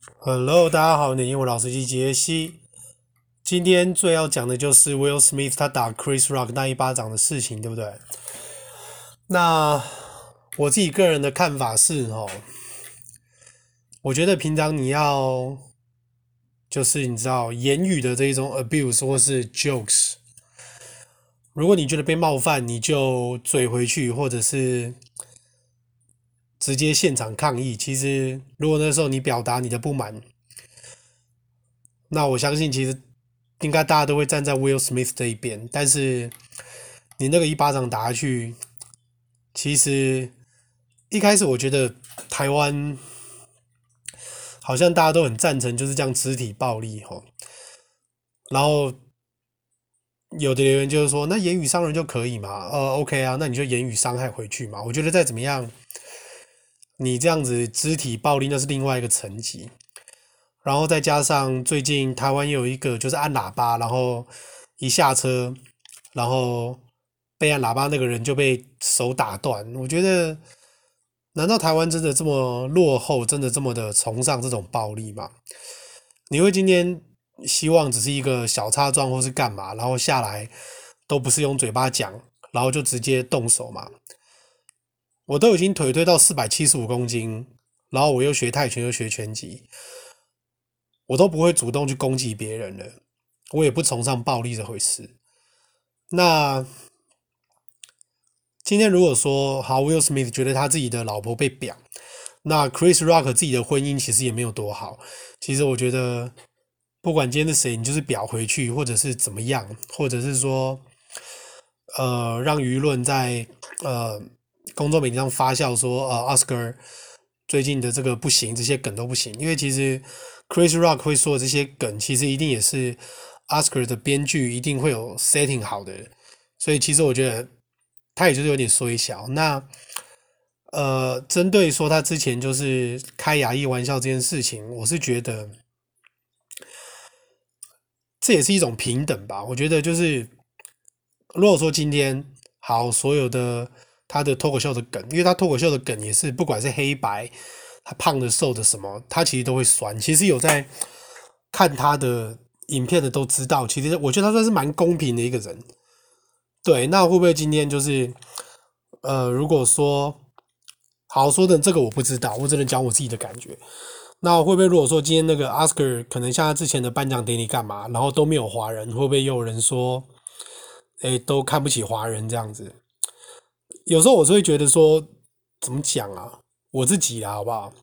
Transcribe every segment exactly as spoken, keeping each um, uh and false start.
Hello，大家好，你的英文老師機傑西。今天最要講的就是 Will Smith 他打 Chris Rock 那一巴掌的事情，對不對？那我自己個人的看法是哦，我覺得平常你要就是你知道言語的這一種 abuse 或是 jokes，如果你覺得被冒犯，你就嘴回去，或者是直接現場抗議。其實如果那時候你表達你的不滿，那我相信其實應該大家都會站在 Will Smith 這一邊。但是你那個一巴掌打下去，其實一開始我覺得台灣好像大家都很贊成就是這樣肢體暴力齁，然後有的留言就是說，那言語傷人就可以嘛？呃 OK 啊，那你就言語傷害回去嘛。我覺得再怎麼樣，你這樣子肢體暴力那是另外一個層級。然後再加上最近台灣有一個就是按喇叭，然後一下車，然後被按喇叭那個人就被手打斷。我覺得，難道台灣真的這麼落後，真的這麼的崇尚這種暴力嗎？你會今天希望只是一個小擦撞或是幹嘛，然後下來都不是用嘴巴講，然後就直接動手嘛？我都已經腿推到四百七十五公斤，然後我又學泰拳又學拳擊，我都不會主動去攻擊別人了，我也不崇尚暴力這回事。那今天如果說好 ，Will Smith 覺得他自己的老婆被表，那 Chris Rock 自己的婚姻其實也沒有多好。其實我覺得，不管今天是誰，你就是表回去，或者是怎麼樣，或者是說，呃，讓輿論在呃。公眾媒體上發酵說，呃，Oscar 最近的這個不行，這些梗都不行。因為其實 Chris Rock 會說的這些梗，其實一定也是 Oscar 的編劇一定會有 setting 好的。所以其實我覺得他也就是有點衰小。那呃，針對說他之前就是開亞裔玩笑這件事情，我是覺得這也是一種平等吧。我覺得就是如果說今天好所有的。他的脫口秀的梗，因為他脫口秀的梗也是不管是黑白，他胖的瘦的什麼，他其實都會酸。其實有在看他的影片的都知道，其實我覺得他算是蠻公平的一個人。對，那會不會今天就是呃，如果說好說的這個我不知道，我只能講我自己的感覺。那會不會如果說今天那個 Oscar 可能像他之前的頒獎典禮幹嘛，然後都沒有華人，會不會又有人說，誒，都看不起華人這樣子？有時候我是會覺得說，怎麼講啊？我自己啊，好不好？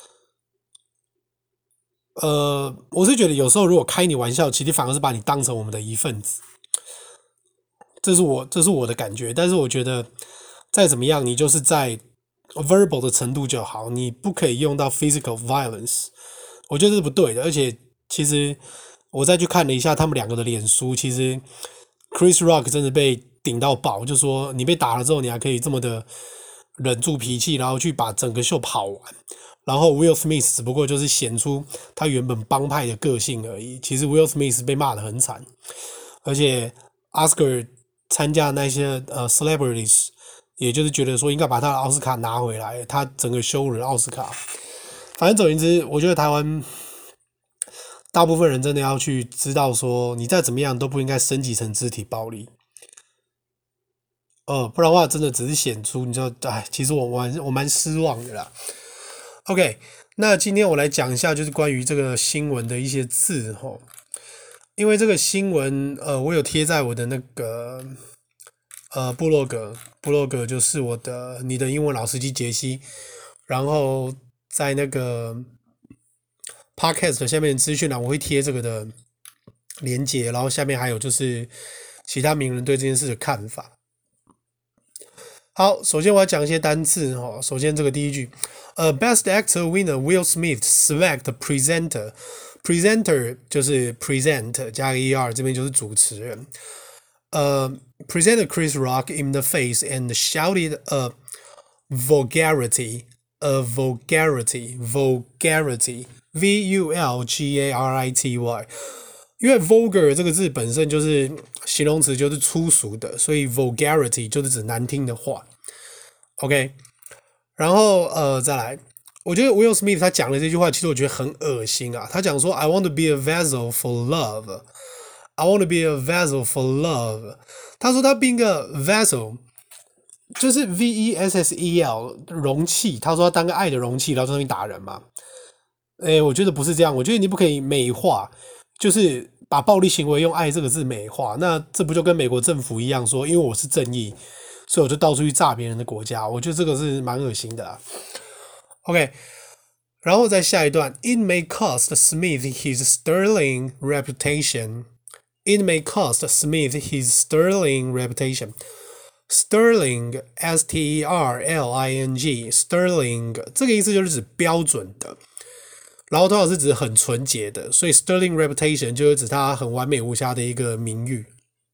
呃，我是覺得有時候如果開你玩笑，其實反而是把你當成我們的一份子。這是我，這是我的感覺。但是我覺得再怎麼樣，你就是在 verbal 的程度就好，你不可以用到 physical violence。我覺得這是不對的。而且其實我再去看了一下他們兩個的臉書，其實 Chris Rock 真的被頂到爆，就說你被打了之後，你還可以這麼的忍住脾氣，然後去把整個秀跑完。然後 Will Smith 只不過就是顯出他原本幫派的個性而已。其實 Will Smith 被罵得很慘，而且 Oscar 參加那些呃 celebrities， 也就是覺得說應該把他的奧斯卡拿回來，他整個羞辱了奧斯卡。反正總言之，我覺得台灣大部分人真的要去知道說，你再怎麼樣都不應該升級成肢體暴力。呃，不然的話，真的只是顯出，你知道，哎，其實我我我蠻失望的啦。OK， 那今天我來講一下，就是關於這個新聞的一些字齁。因為這個新聞，呃，我有貼在我的那個呃部落格，部落格就是我的你的英文老司機傑西，然後在那個 Podcast 下面資訊欄我會貼這個的連結，然後下面還有就是其他名人對這件事的看法。好，首先我要講一些單字哈。首先這個第一句，呃 ，Best Actor winner Will Smith slapped presenter，presenter presenter 就是 present 加個 er， 這邊就是主持人。呃、uh, ，presented Chris Rock in the face and shouted a vulgarity，a vulgarity，vulgarity，v u l g a r i t y。因為 vulgar 這個字本身就是形容詞，就是粗俗的，所以 vulgarity 就是指難聽的話。OK， 然後呃再來我覺得 Will Smith 他講的這句話，其實我覺得很惡心啊。他講說 "I want to be a vessel for love, I want to be a vessel for love"。他說他變個 vessel，就是 V E S S E L 容器。他說他當個愛的容器，然後在那邊打人嘛。哎，我覺得不是這樣。我覺得你不可以美化，就是把暴力行為用愛這個字美化。那這不就跟美國政府一樣說，因為我是正義，所以我就到處去炸別人的國家。我覺得這個是蠻惡心的啦。OK， 然後再下一段 ，It may cost Smith his sterling reputation. It may cost Smith his sterling reputation. Sterling, S T E R L I N G, sterling 這個意思就是指標準的，然後通常是指很純潔的，所以 sterling reputation 就是指他很完美無瑕的一個名譽。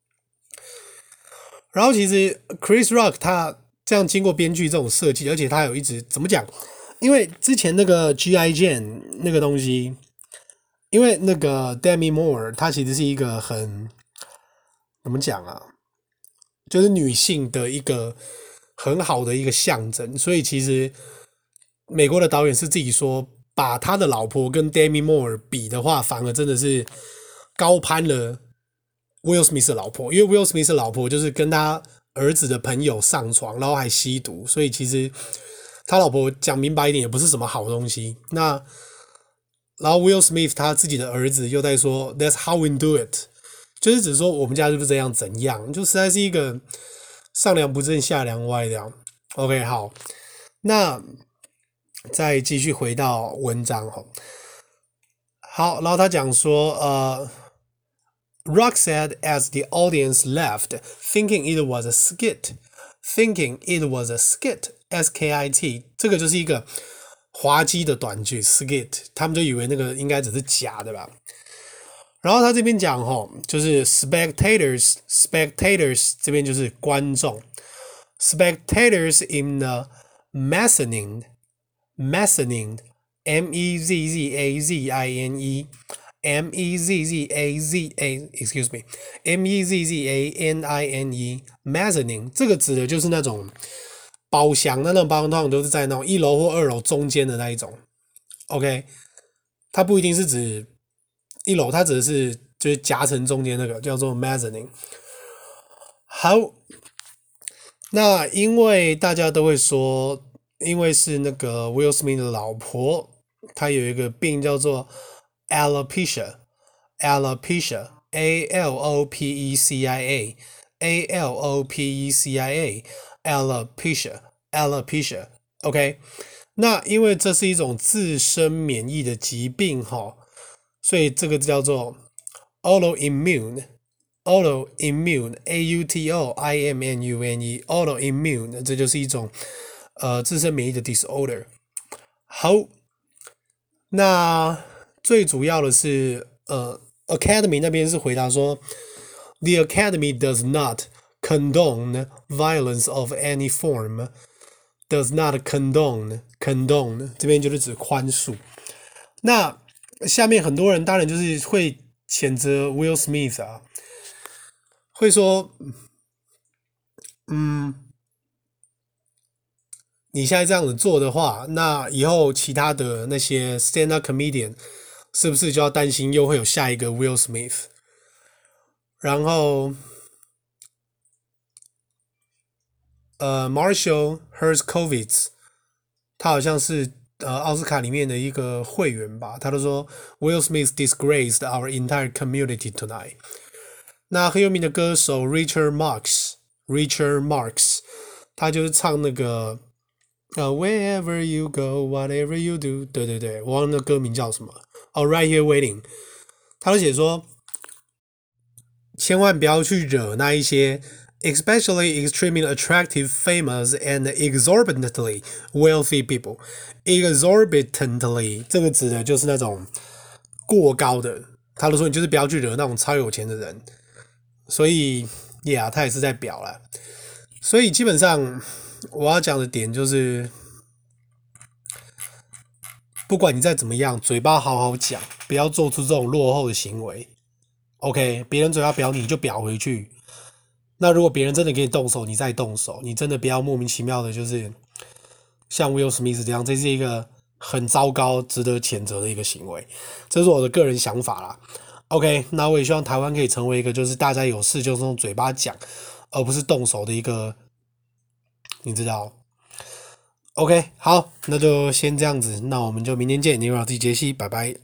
然後其實 Chris Rock 他這樣經過編劇這種設計，而且他有一直怎麼講？因為之前那個 G I Jane 那個東西，因為那個 Demi Moore 她其實是一個很怎麼講啊，就是女性的一個很好的一個象徵，所以其實美國的導演是自己說，把他的老婆跟 Demi Moore 比的話，反而真的是高攀了 Will Smith 的老婆，因為 Will Smith 的老婆就是跟他兒子的朋友上床，然後還吸毒，所以其實他老婆講明白一點也不是什麼好東西。那然後 Will Smith 他自己的兒子又在說 That's how we do it， 就是只說我們家就是這樣怎樣，就實在是一個上梁不正下梁歪這樣。OK， 好，那再繼續回到文章哈。好，然後他講說呃 Rock said as the audience left, thinking it was a skit, thinking it was a skit.S K I T 這個就是一個滑稽的短句 skit， 他們就以為那個應該只是假的吧。然後他這邊講齁，就是 spectators spectators 這邊就是觀眾 spectators in the mezzanine mezzanine M E Z Z A Z I N E M E Z Z A Z A excuse me M E Z Z A N I N E mezzanine 這個指的就是那種包廂，那種包廂通常都是在那種一樓或二樓中間的那一種 ，OK， 它不一定是指一樓，它指的是就是夾層中間那個叫做 mezzanine。好，那因為大家都會說，因為是那個 Will Smith 的老婆，她有一個病叫做 alopecia，alopecia A L O P E C I A A L O P E C I A。Alopecia, alopecia, OK， 那因為這是一種自身免疫的疾病哈，所以這個叫做 autoimmune, autoimmune, A U T O I M N U N E, autoimmune， 這就是一種呃自身免疫的 disorder。好，那最主要的是呃 Academy 那邊是回答說 ，The Academy does not。condone violence of any form, does not condone, condone 這邊就是指寬恕。那下面很多人當然就是會譴責 Will Smith 啊，會說，嗯，你現在這樣子做的話，那以後其他的那些 stand-up comedian 是不是就要擔心又會有下一個 Will Smith？ 然後呃 ，Marshall Herskovitz， 他好像是呃奧斯卡裡面的一個會員吧，他都說 Will Smith disgraced our entire community tonight。那很有名的歌手 Richard Marx，Richard Marx， 他就是唱那個呃 Wherever you go, whatever you do， 對對對，我忘了那歌名叫什麼，哦 Right Here Waiting， 他都寫說，千萬不要去惹那一些。Especially extremely attractive, famous, and exorbitantly wealthy people. Exorbitantly 這個指的就是那種過高的。他都說你就是不要去惹那種超有錢的人。所以 ，Yeah， 他也是在表啦。所以基本上我要講的點就是，不管你再怎麼樣，嘴巴好好講，不要做出這種落後的行為。OK， 別人嘴巴表你，你就表回去。那如果別人真的給你動手，你再動手，你真的不要莫名其妙的，就是像 Will Smith 這樣，這是一個很糟糕、值得譴責的一個行為。這是我的個人想法啦。OK， 那我也希望台灣可以成為一個就是大家有事就是用嘴巴講，而不是動手的一個，你知道。OK， 好，那就先這樣子，那我們就明天見。你好，自己傑西，拜拜。